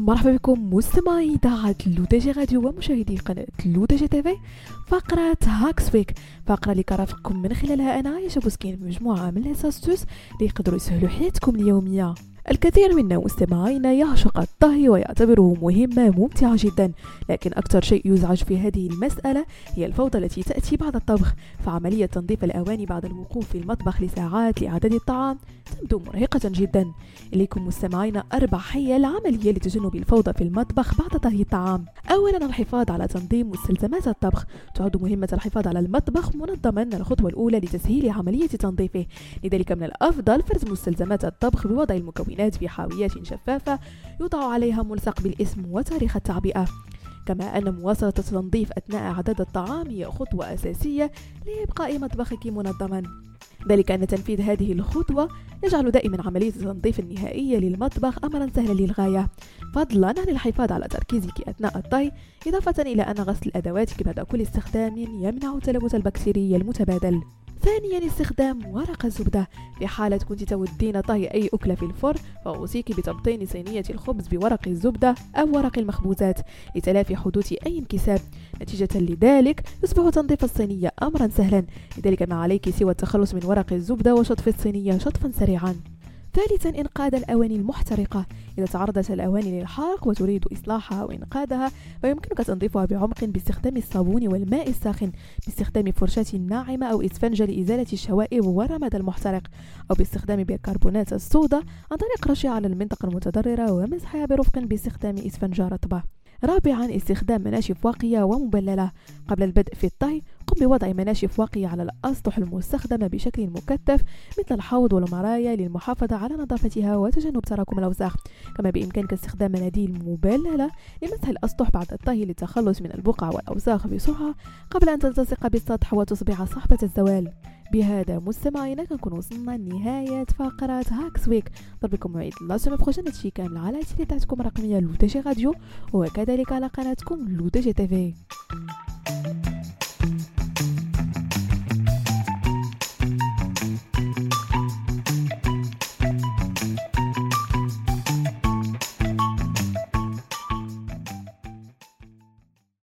مرحبا بكم مستمعي إذاعة لودجي راديو ومشاهدي قناة لودجي تيفي. فقرة هاكس ويك، فقرة اللي كرافقكم من خلالها أنا عايشة بوسكين بمجموعة من الاساستوس اللي يقدروا يسهلوا حياتكم اليومية. الكثير منا مستمعينا يعشق الطهي ويعتبره مهمة ممتعة جدا، لكن أكثر شيء يزعج في هذه المسألة هي الفوضى التي تأتي بعد الطبخ. فعملية تنظيف الأواني بعد الوقوف في المطبخ لساعات لإعداد الطعام تبدو مرهقة جدا. إليكم مستمعينا 4 حيل عملية لتجنب الفوضى في المطبخ بعد طهي الطعام. أولا، الحفاظ على تنظيم مستلزمات الطبخ. تعد مهمة الحفاظ على المطبخ منظما الخطوة الأولى لتسهيل عملية تنظيفه، لذلك من الأفضل فرز مستلزمات الطبخ بوضع المكونات في حاويات شفافة يوضع عليها ملصق بالاسم وتاريخ التعبئة. كما أن مواصلة التنظيف أثناء إعداد الطعام هي خطوة أساسية لإبقاء مطبخك منظما، ذلك أن تنفيذ هذه الخطوة يجعل دائما عملية التنظيف النهائية للمطبخ أمرا سهلا للغاية، فضلا عن الحفاظ على تركيزك أثناء الطهي، إضافة إلى أن غسل أدواتك بعد كل استخدام يمنع التلوث البكتيري المتبادل. ثانيا، استخدام ورق الزبدة. في حالة كنت تودين طهي أي أكلة في الفرن فأوصيك بتبطين صينية الخبز بورق الزبدة أو ورق المخبوزات لتلافي حدوث أي انكسار. نتيجة لذلك يصبح تنظيف الصينية أمرا سهلا، لذلك ما عليك سوى التخلص من ورق الزبدة وشطف الصينية شطفا سريعا. ثالثا، إنقاذ الأواني المحترقة. إذا تعرضت الأواني للحرق وتريد إصلاحها وإنقاذها فيمكنك تنظيفها بعمق باستخدام الصابون والماء الساخن، باستخدام فرشاة ناعمة أو إسفنجة لإزالة الشوائب والرماد المحترق، أو باستخدام بيكربونات الصودا عن طريق رشها على المنطقة المتضررة ومسحها برفق باستخدام إسفنجة رطبة. رابعا، استخدام مناشف واقية ومبللة. قبل البدء في الطهي قم بوضع مناشف واقية على الأسطح المستخدمة بشكل مكثف مثل الحوض والمرايا للمحافظة على نظافتها وتجنب تراكم الأوساخ. كما بإمكانك استخدام مناديل مبللة لمسح الأسطح بعد الطهي للتخلص من البقع والأوساخ بسرعة قبل أن تلتصق بالسطح وتصبح صعبة الزوال. بهذا مستمعينا كنكون وصلنا لنهاية فقرة هاكس ويك. ضربكم موعد لا سومي بروجين هادشي كامل على تيلي تاعتكم الرقمية لودجي راديو وكذلك على قناتكم لودجي تيفي.